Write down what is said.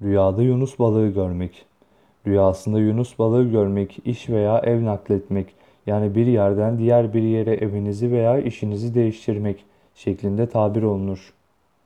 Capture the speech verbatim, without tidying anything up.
Rüyada yunus balığı görmek. Rüyasında yunus balığı görmek, iş veya ev nakletmek, yani bir yerden diğer bir yere evinizi veya işinizi değiştirmek şeklinde tabir olunur.